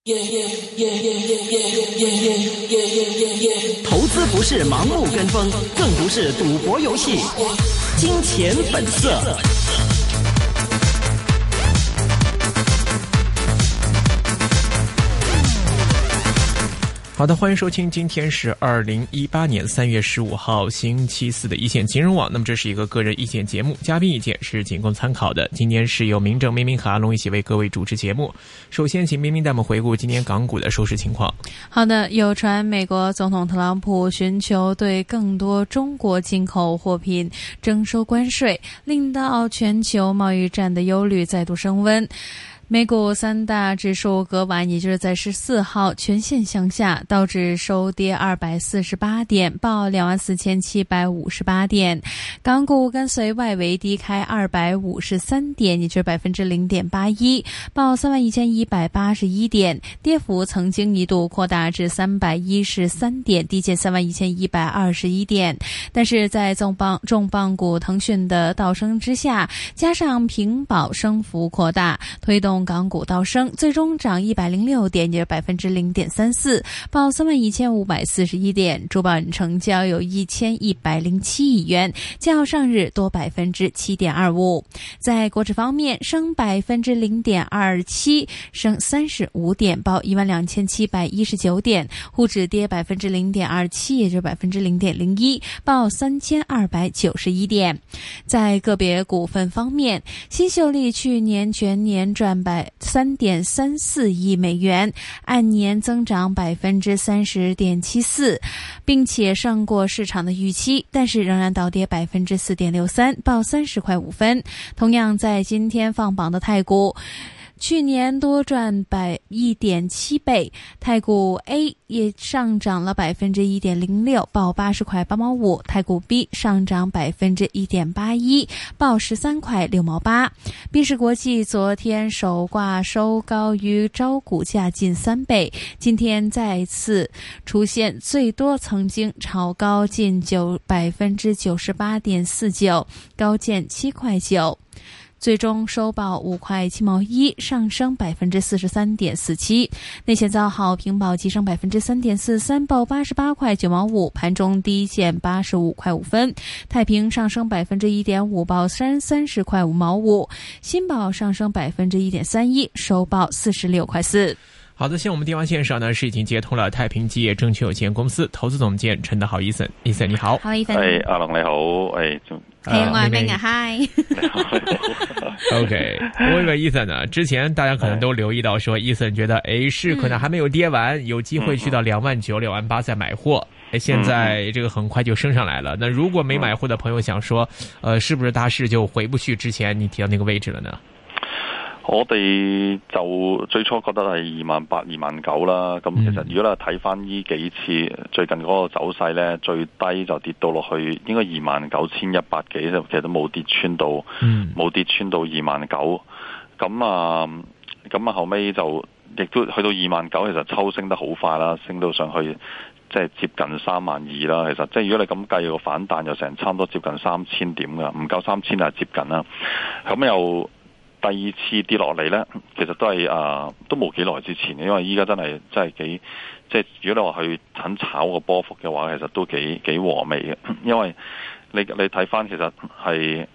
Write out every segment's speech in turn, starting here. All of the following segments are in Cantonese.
投资不是盲目跟风，更不是赌博游戏。金钱本色。好的，欢迎收听，今天是2018年3月15号星期四的一线金融网。那么这是一个个人意见节目，嘉宾意见是仅供参考的。今天是由明正、明明和阿龙一起为各位主持节目。首先请明明带我们回顾今天港股的收市情况。 好的，有传美国总统特朗普寻求对更多中国进口货品征收关税，令到全球贸易战的忧虑再度升温。美股三大指数隔晚，也就是在14号全线向下，道指收跌248点，报24,758点。港股跟随外围低开253点，也就是 0.81%， 报31,181点，跌幅曾经一度扩大至313点，低见31,121点。但是在重磅股腾讯的倒升之下，加上平保升幅扩大，推动港股倒升，最终涨106点，也就是 0.34%， 报31,541点。主板成交有1107亿元，较上日多 7.25%。 在国指方面，升 0.27%， 升35点，报12,719点。沪指跌 0.27%， 也就是 0.01%， 报3,291点。在个别股份方面，新秀丽去年全年赚3.34亿美元，按年增长 30.74%， 并且胜过市场的预期，但是仍然倒跌 4.63%， 报30块5分。同样在今天放榜的太股，去年多赚1.7倍，太股 A 也上涨了 1.06%， 报80块8毛5，太股 B 上涨 1.81%， 报13块6毛8。宾士国际昨天首挂收高于招股价近3倍，今天再次出现最多曾经炒高近 98.49%， 高见7块9。最终收报5块7毛1，上升 43.47%。内险造好平保急升 3.43%， 报88块9毛5，盘中低见85块5分。太平上升 1.5%， 报30块5毛5。新保上升 1.31%， 收报46块4。 好的，现在我们电话线上呢是已经接通了太平基业证券有限公司投资总监陈德豪 Ethan 你好。 好 Ethan。 阿龍你好， 我係明啊 Hi。 OK， 我以為 Ethan 呢，之前大家可能都留意到說 Ethan 覺得市可能還沒有跌完，有機會去到29,000、28,000再買貨。現在這個很快就升上來了，那如果沒買貨的朋友想說是不是大市就回不去之前你提到那個位置了呢？ 我哋就最初覺得係28,000、29,000啦。咁其實如果你睇翻呢幾次最近嗰個走勢呢，最低就跌到落去應該29,100幾，就其實都冇跌穿到，冇跌穿到29,000。咁後尾就亦都去到29,000，其實抽升得好快啦，升到上去即係接近32,000啦。其實即係如果你咁計個反彈，又成差唔多接近3000點㗎，唔夠3000係接近啦。咁又第二次跌落嚟呢，其實都係都冇幾耐之前，因為依家真係幾即係如果你話去肯炒個波幅嘅話，其實都幾和味嘅，因為你睇翻其實係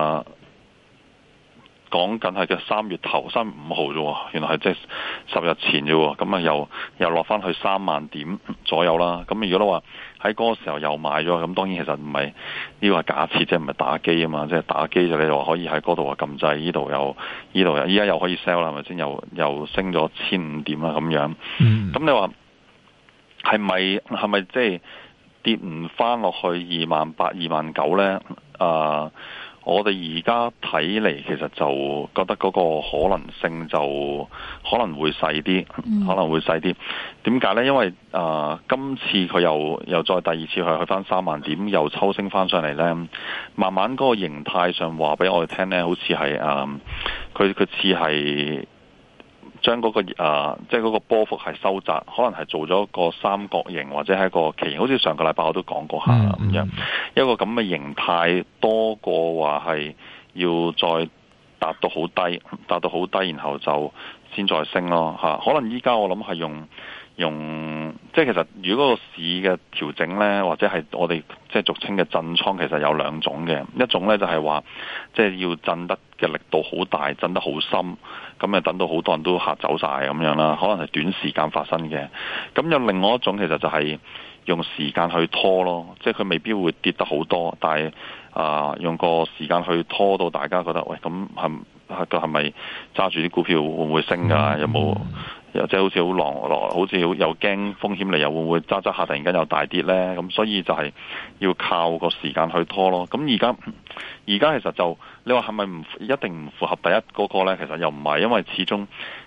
講緊係嘅3月5號啫喎，原來係即係10日前啫喎，咁又落翻去3萬點左右啦。咁如果你話喺嗰個時候又買咗，咁當然其實唔係呢個係假設，即係唔係打機啊嘛，即係打機就你話可以喺嗰度撳掣，呢度又依家又可以 sell 啦，係咪先？又升咗1,500點啦咁樣。咁你話係咪即係跌唔翻落去28,000、29,000咧？我哋而家睇嚟，其實就覺得嗰個可能性就可能會細啲，點解呢？因為今次佢又再第二次去翻3萬點，又抽升翻上嚟呢。慢慢嗰個形態上話俾我哋聽呢，好似係佢似係將嗰個即係嗰個波幅係收窄，可能係做咗個三角形或者係一個旗形，好似上個禮拜我都講過下咁樣，一個咁嘅形態多過話係要再達到好低，然後就先再升咯嚇。可能依家我諗係用即係其實如果個市嘅調整咧，或者係我哋即係俗稱嘅震倉，其實有兩種嘅。一種咧就係話即係要震得嘅力度好大，震得好深，咁啊等到好多人都嚇走晒咁樣啦。可能係短時間發生嘅。咁有另外一種其實就係用時間去拖咯，即係佢未必會跌得好多，但係用個時間去拖到大家覺得喂，咁係咪揸住啲股票會唔會升㗎？有冇？又即係好似好狼來，好似又驚風險嚟，又會唔會揸下突然間又大跌呢？咁所以就係要靠個時間去拖咯。咁而家其實就你話係咪一定唔符合第一嗰個呢？其實又唔係，因為始終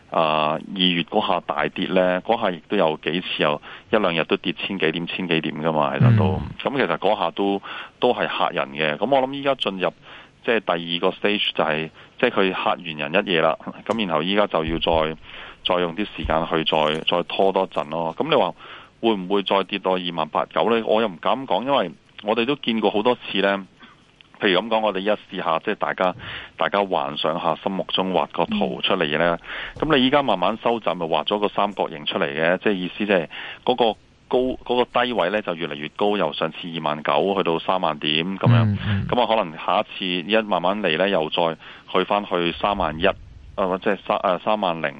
2月嗰下大跌呢，嗰下亦都有幾次有一兩日都跌千幾點噶嘛，其實都咁其實嗰下都係嚇人嘅。咁我諗依家進入即係第二個 stage 就係即係佢嚇完人一夜啦。咁然後依家就要再用啲時間去再拖多陣咯。咁你話會唔會再跌到28,900呢？我又唔敢講，因為我哋都見過好多次呢。譬如咁講，我哋一試下，即係大家幻想下心目中畫個圖出嚟呢。咁你依家慢慢收窄，咪畫咗個三角形出嚟嘅，即係意思即係嗰個嗰個低位呢就越嚟越高，由上次29,000去到30,000點咁樣。咁啊可能下一次一慢慢嚟呢，又再去翻去31,000即係30,000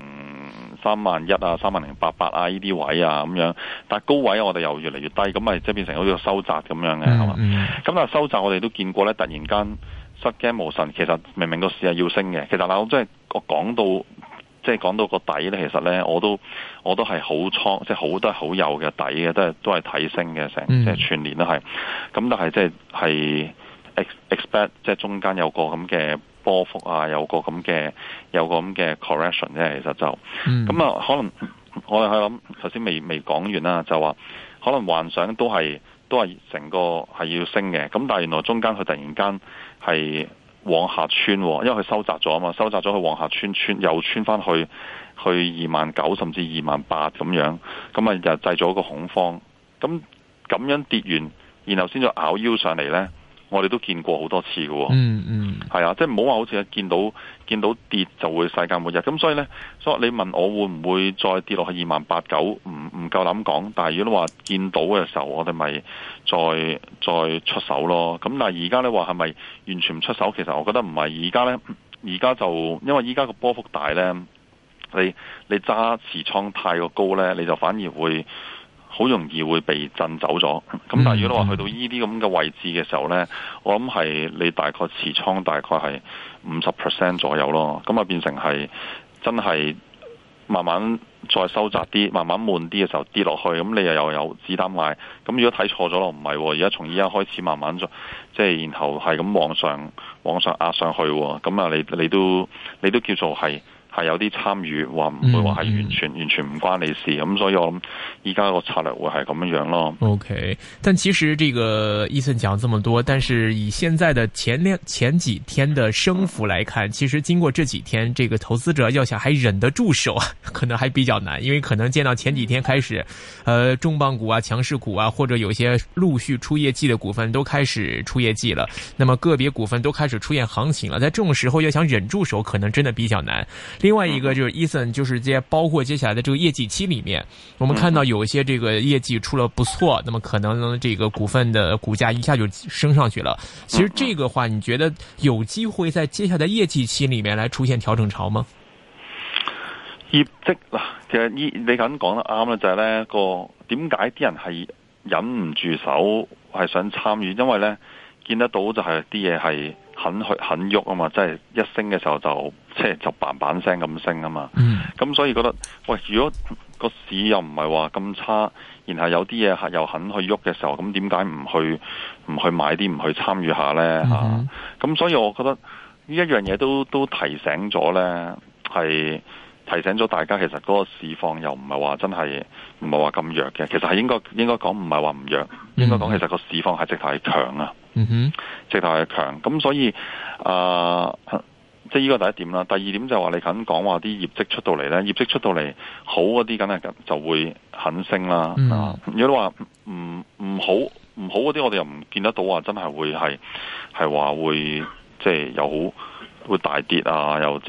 31,000啊、30,800啊呢啲位啊咁樣，但係高位我哋又越嚟越低，咁咪即係變成好似個收窄咁樣嘅，係嘛？咁但係收窄我哋都見過咧，突然間失驚無神，其實明明個市係要升嘅，其實嗱我講到即係講到個底咧，其實咧我都係好倉，即係都係好有嘅底嘅，都係睇升嘅成，即係全年都係。咁但係即係 expect 即係中間有個咁嘅波幅啊，有個咁嘅 correction 啫，其實就咁啊，可能我哋去諗頭先未講完啦，就話可能幻想都係成個係要升嘅，咁但係原來中間佢突然間係往下穿，因為佢收窄咗啊嘛，收窄咗佢往下穿又穿翻去29,000甚至28,000咁樣，咁啊又製造一個恐慌，咁樣跌完，然後先再咬腰上嚟咧。我哋都見過好多次嘅喎，係啊，即係唔好話好似見到跌就會世界末日，咁所以你問我會唔會再跌落去28,900，唔夠膽講，但係如果你話見到嘅時候，我哋咪再出手咯。咁但係而家你話係咪完全唔出手？其實我覺得唔係，而家就因為而家個波幅大咧，你揸持倉太過高咧，你就反而會好容易會被震走咗，咁但係如果你話去到呢啲咁嘅位置嘅時候呢，我諗係你大概持倉大概係50% 左右咯，咁啊變成係真係慢慢再收窄啲，慢慢悶啲嘅時候跌落去，咁你又有子彈買，咁如果睇錯咗咯，唔係，而家從依家開始慢慢即係然後係咁往上壓上去，咁啊你都叫做係有啲參與，話唔會話係完全唔關你事，咁所以我諗依家個策略會係咁樣咯。 OK， 但其實這個Ethan講這麼多，但是以現在的前幾天的升幅來看，其實經過這幾天，這個投資者要想還忍得住手，可能還比較難，因為可能見到前幾天開始，重磅股啊、強勢股啊，或者有一些陸續出業績的股份都開始出業績了，那麼個別股份都開始出現行情了，在這種時候要想忍住手，可能真的比較難。另外一個就是 Ethan，就是包括接下來的這個業績期裏面，我們看到有一些這個業績出了不錯，那麼可能這個股份的股價一下就升上去了。其實這個話，你覺得有機會在接下來的業績期裏面來出現調整潮嗎？ 業績嗱，其實你咁講得啱啦，就係呢個點解啲人係忍唔住手係想參與，因為呢見得到就係啲嘢係肯喐啊嘛，即係一升嘅時候就嘭嘭聲咁升啊嘛，咁所以覺得喂，如果個市又唔係話咁差，然後有啲嘢係又肯去喐嘅時候，咁點解唔去買啲，唔去參與下呢？咁所以我覺得呢一樣嘢都提醒咗呢，係提醒咗大家，其實嗰個市況又唔係話真係唔係話咁弱嘅，其實係應該講唔係話唔弱，應該講其實個市況係直頭係強啊，直頭係強。咁所以即係呢個第一點啦。第二點就係話你肯講話啲業績出到嚟咧，業績出到嚟好嗰啲，梗係就會肯升啦。如果你話唔好嗰啲，我哋又唔見得到話真係會係話會即係有好會大跌啊，又即係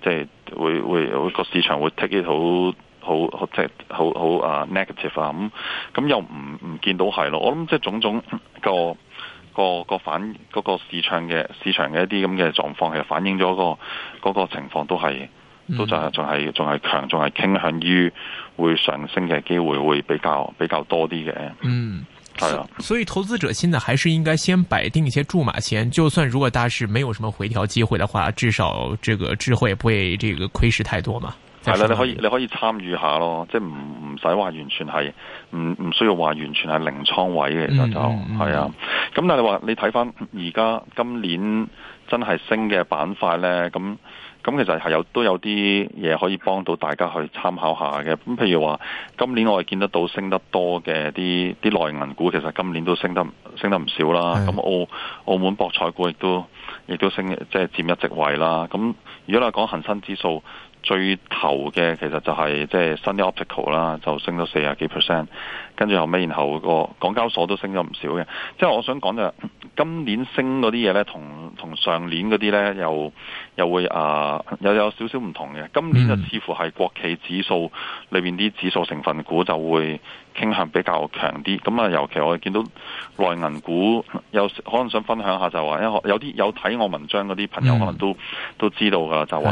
即係會個市場會 take it 好即係好 negative 啊，咁又唔見到係咯。我諗即係種種個反嗰個市場嘅一啲咁嘅狀況，其實反映咗嗰個情況都就係仲係強，仲係傾向於會上升嘅機會會比較多啲嘅。係啊， 所以投資者現在還是應該先擺定一些注碼錢，就算如果大市沒有什麼回調機會的話，至少這個智慧不會這個虧蝕太多嘛。 係啦，你可以參與下咯，即係唔使話完全係唔需要話完全係零倉位嘅，其實就係啊。咁但係你話你睇翻而家今年真係升嘅板塊咧，咁其實係都有啲嘢可以幫到大家去參考下嘅。咁譬如話今年我哋見得到升得多嘅啲內銀股，其實今年都升得唔少啦。咁澳門博彩股亦都升，即係佔一席位啦。咁如果你講恒生指數最頭嘅，其實就係即係 Sunny Optical 啦，就升咗40幾%，跟住後尾然後個港交所都升咗唔少嘅。即係我想講就今年升嗰啲嘢咧，同上年嗰啲咧又會又有少少唔同嘅。今年就似乎係國企指數裏邊啲指數成分股就會傾向比較強啲。咁啊，尤其我哋見到內銀股有可能想分享下，就話有啲有睇我文章嗰啲朋友可能都知道噶，就話。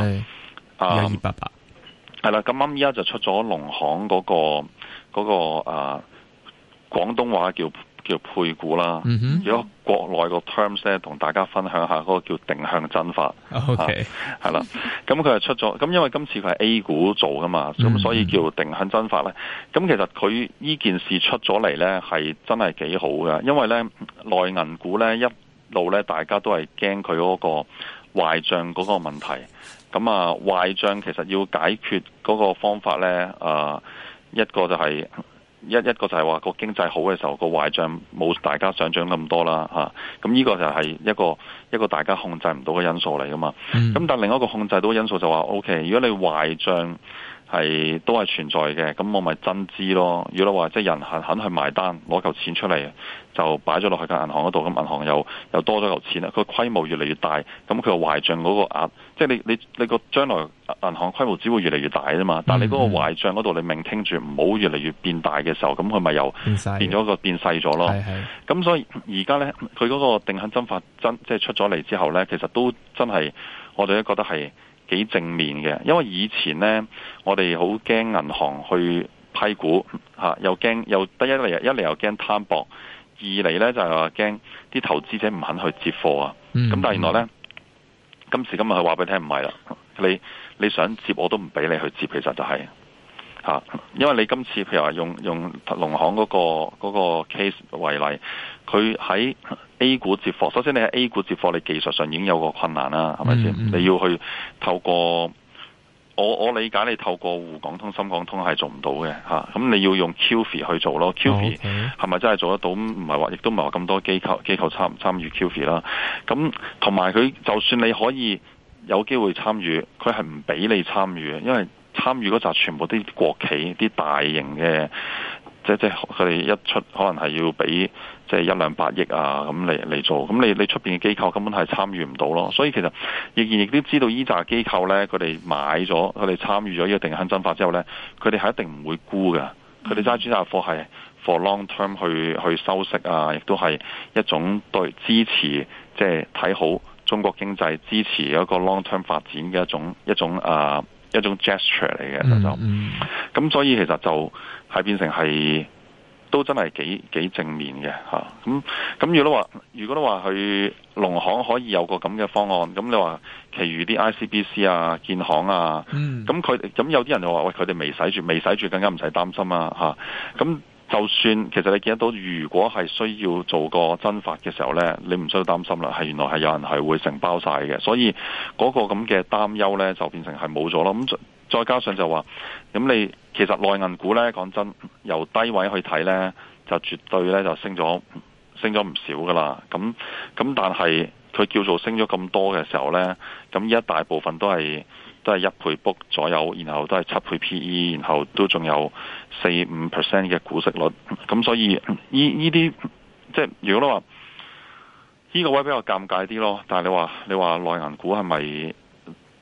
1288 係啦，咁啱依家就出咗農行嗰個廣東話叫配股啦。如果國內個 terms 咧，同大家分享下嗰個叫定向增發。 OK， 係啦，咁佢係出咗，咁因為今次佢係 A 股做噶嘛，咁所以叫定向增發咧。咁其實佢呢件事出咗嚟咧，係真係幾好嘅，因為咧內銀股咧一路咧大家都係驚佢嗰個壞賬嗰個問題。咁壞賬其實要解決嗰個方法咧，一個就係一個就係話個經濟好嘅時候，個壞賬冇大家想象咁多啦嚇。咁呢個就係一個大家控制唔到嘅因素嚟噶嘛。咁但另一個控制到嘅因素就話 OK， 如果你壞賬都係存在嘅，咁我咪增資咯。如果你話即係人肯去埋單，攞嚿錢出嚟就擺咗落去間銀行嗰度，咁銀行又多咗嚿錢啦。佢規模越嚟越大，咁佢個壞賬嗰個額，即係你個將來銀行規模只會越嚟越大啫嘛。但係你嗰個壞賬嗰度你命聽住唔好越嚟越變大嘅時候，咁佢咪又變咗變細咗咯。咁所以而家咧，佢嗰個定向增發即係出咗嚟之後咧，其實都真係我哋都覺得係幾正面嘅，因為以前呢，我哋好驚銀行去批股又驚又得一嚟又驚攤薄，二嚟呢就係話驚啲投資者唔肯去接貨啊。咁但係原來呢，今時今日佢話俾你聽唔係啦，你想接我都唔俾你去接，其實就係因為你今次譬如話用農行嗰個 case 為例，佢喺A 股接貨，首先你喺 A 股接貨，你技術上已經有個困難啦，係咪先？你要去透過我理解，你透過滬港通、深港通係做唔到嘅嚇。咁你要用 QFII 去做咯。QFII 係咪真係做得到？唔係話，亦都唔係話咁多機構參與 QFII 啦。咁同埋佢就算你可以有機會參與，佢係唔俾你參與嘅，因為參與嗰紮全部啲國企、啲大型嘅。即係佢哋一出可能係要俾即係100-200億啊咁嚟做，咁你出邊嘅機構根本係參與唔到咯。所以其實亦都知道依紮機構咧，佢哋買咗，佢哋參與咗呢個定向增發之後咧，佢哋係一定唔會沽嘅。佢哋揸住紮貨係 for long term 去收息啊，亦都係一種對支持即係睇好中國經濟、支持一個 long term 發展嘅一種 gesture 嚟嘅咁所以其實就係變成係都真係幾正面嘅嚇。咁如果你話佢農行可以有個咁嘅方案，咁你話其餘啲 ICBC 啊、建行啊，咁有啲人就話喂，佢哋未使住，更加唔使擔心啊嚇。咁就算其實你見得到，如果係需要做個增發嘅時候呢，你唔需要擔心啦，係原來係有人係會承包晒嘅，所以嗰個咁嘅擔憂呢，就變成係冇咗咯。咁再加上就話，咁你其實內銀股呢，講真，由低位去睇呢，就絕對呢就升咗唔少噶啦。咁但係佢叫做升咗咁多嘅時候呢，咁依一大部分都係1倍 book 左右，然後都係7倍 PE， 然後都仲有4-5% 嘅股息率。咁所以呢啲即係如果你話呢個位比較尷尬啲咯。但係你話內銀股係咪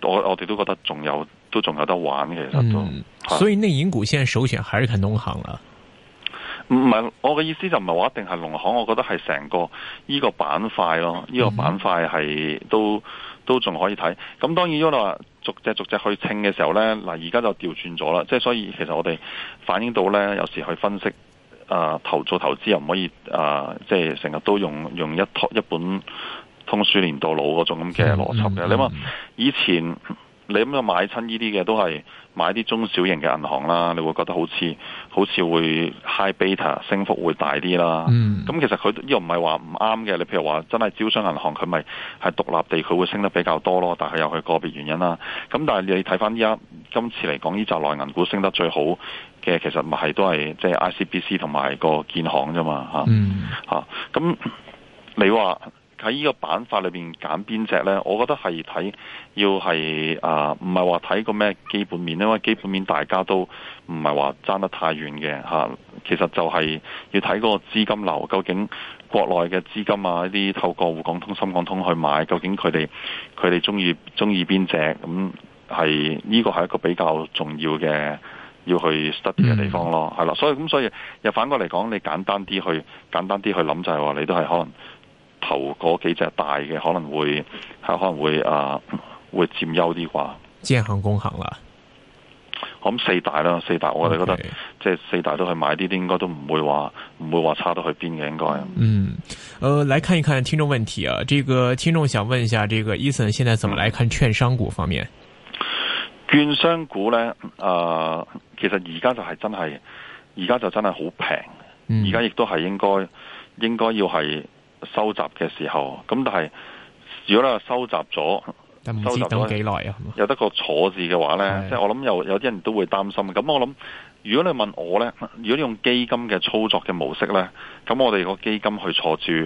我哋都覺得仲有得玩嘅，其實都。 所以內銀股現在首選還是看農行啦。 唔係，我嘅意思就唔係話一定係農行，我覺得係成個呢個板塊咯，呢個板塊係都仲可以睇。咁當然如果你話逐隻去稱嘅時候呢，嗱而家就調轉咗啦，即係所以其實我哋反映到呢，有時去分析做投資又唔可以即係成日都用一本通書年度老嗰種咁嘅邏輯嘅。你話以前你咁樣買親呢啲嘅都係買啲中小型嘅銀行啦，你會覺得好似會 high beta 升幅會大啲啦。咁其實佢呢個唔係話唔啱嘅。你譬如話真係招商銀行佢咪係獨立地佢會升得比較多咯，但係有佢個別原因啦。咁但係你睇翻今次嚟講呢紮內銀股升得最好嘅，其實咪係都係即係 ICBC 同埋個建行啫嘛嚇。咁你話喺呢個板塊裏邊揀邊隻呢？我覺得係要係唔係話睇個咩基本面，因為基本面大家都唔係話爭得太遠嘅嚇。其實就係要睇嗰個資金流，究竟國內嘅資金啊，一啲透過滬港通、深港通去買，究竟佢哋中意邊隻？咁係呢個係一個比較重要嘅要去 study 嘅地方咯，係啦。所以又反過嚟講，你簡單啲去諗就係話，你都係可能頭嗰幾隻大嘅可能會佔優啲啩。 建行、工行啦， 我諗四大我哋覺得即係四大都去買啲，應該都唔會話差到去邊嘅應該。 來看一看聽眾問題啊，這個聽眾想問一下，這個 Ethan 現在怎麼來看券商股方面？ 券商股呢，其實而家就真係好平，而家亦都係應該要係收集嘅時候。咁但係如果你話收集咗等幾耐啊？有得個坐字嘅話呢，即係我諗有啲人都會擔心。咁我諗，如果你問我呢，如果你用基金嘅操作嘅模式呢，咁我哋個基金去坐住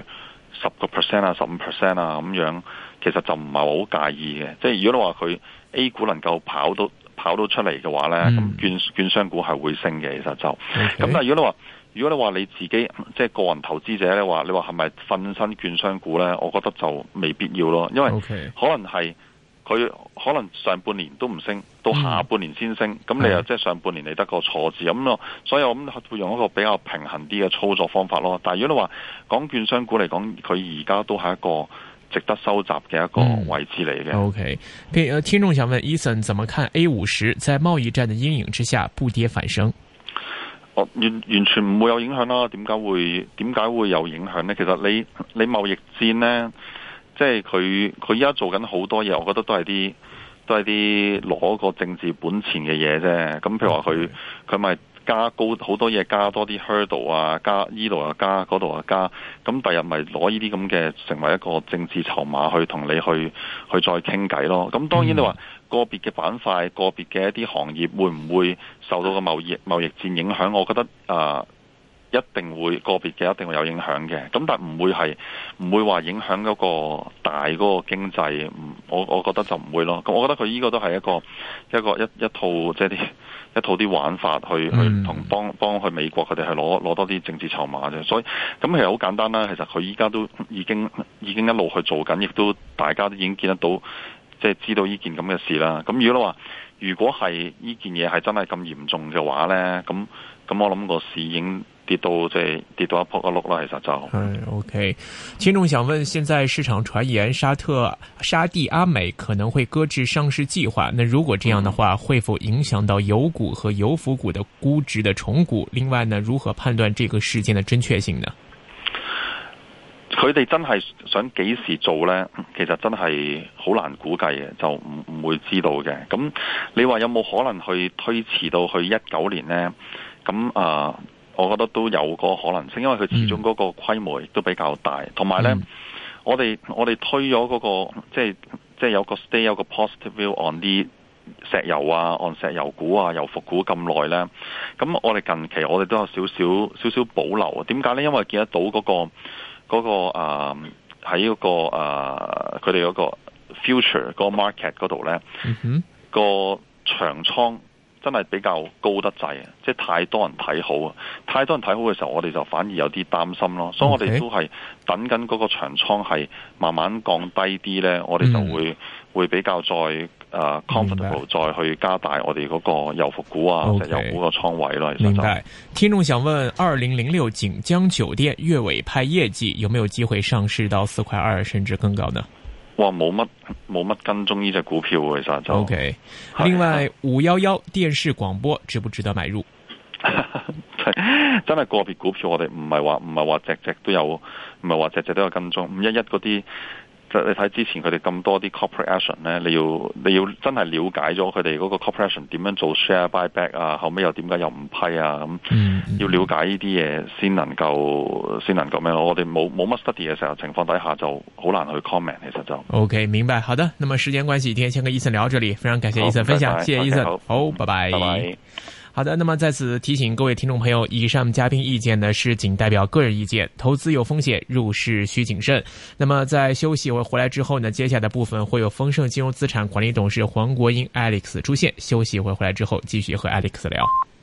10% 啊、15% 啊咁樣，其實就唔係好介意嘅。即係如果你話佢 A 股能夠跑到出嚟嘅話呢，咁券商股係會升嘅。其實就咁。但係如果你話你自己即係個人投資者咧，你話係咪瞓身券商股呢？我覺得就未必要咯，因為可能係佢可能上半年都唔升，到下半年先升，咁你又即係上半年你得個錯字咁咯，所以我諗會用一個比較平衡啲嘅操作方法咯。但係如果你話講券商股嚟講，佢而家都係一個值得收集嘅一個位置嚟嘅。 OK， 聽眾想問 Ethan 怎麼看 A50在貿易戰的陰影之下不跌反升？ 完全唔會有影響啦。點解會有影響呢？其實你貿易戰呢，即係佢依家做緊好多嘢，我覺得都係啲攞個政治本錢嘅嘢啫。咁譬如話佢咪加高好多嘢，加多啲 hurdle 啊，加依度啊加，嗰度啊加，咁第日咪攞呢啲咁嘅成為一個政治籌碼去同你去再傾偈咯。咁當然你話個別嘅板塊、個別嘅一啲行業會唔會受到個貿易戰影響？我覺得一定會個別嘅一定會有影響嘅。咁但唔會話影響嗰個大嗰個經濟。我覺得就唔會咯。咁我覺得佢呢個都係一套即係一套啲玩法去同幫去美國佢哋係攞多啲政治籌碼啫。所以咁其實好簡單啦。其實佢依家都已經一路去做緊，亦都大家都已經見得到。即係知道呢件咁嘅事啦。咁如果係呢件嘢係真係咁嚴重嘅話呢，咁我諗個市已經跌到一仆一碌啦。其實就 OK。聽眾想問，現在市場傳言沙地阿美可能會擱置上市計劃，那如果這樣的話，會否影響到油股和油服股的估值的重估？另外呢，如何判斷這個事件的真確性呢？ 佢哋真係想幾時做呢？其實真係好難估計嘅，就唔會知道嘅。咁你話有冇可能去推遲到去19年呢？咁我覺得都有個可能性，因為佢始終嗰個規模亦都比較大，同埋呢，我哋推咗嗰個即係有個 stay 有個 positive view on 啲石油啊，按石油股啊、油服股咁耐呢。咁我哋近期我哋都有少少保留啊。點解呢？因為見得到嗰個喺嗰個佢哋嗰個 future 嗰個 market 嗰度咧，個長倉真係比較高得滯啊！即係太多人睇好啊！太多人睇好嘅時候，我哋就反而有啲擔心咯。所以我哋都係等緊嗰個長倉係慢慢降低啲咧，我哋就會比較再 comfortable 再去加大我哋嗰個油服股啊、石油股個倉位咯。 明白。聽眾想問2006錦江酒店月尾派業績，有沒有機會上市到4.2塊甚至更高呢？ 哇，冇乜跟蹤呢隻股票其實就 OK。另外511電視廣播值不值得買入？ 真係個別股票我哋唔係話隻隻都有，唔係話隻隻都有跟蹤。511嗰啲，你睇之前佢哋咁多啲 corporate action 咧，你要真係了解咗佢哋嗰個 corporate action 點樣做 share buyback 啊，後尾又點解又唔批啊咁，要了解呢啲嘢先能夠咩咯？我哋冇乜 study 嘅時候情況底下就好難去 comment， 其實就 OK 明白。好的，那麼時間關係，今天先跟Ethan聊到這裏，非常感謝Ethan分享， 拜拜謝謝Ethan， okay， 好，拜拜。 拜拜。 好的，那麼在此提醒各位聽眾朋友，以上嘉賓意見呢是僅代表個人意見，投資有風險，入市需謹慎。那麼在休息或回來之後呢，接下來的部分會有豐盛金融資產管理董事黃國英 Alex 出現。休息會回來之後，繼續和 Alex 聊。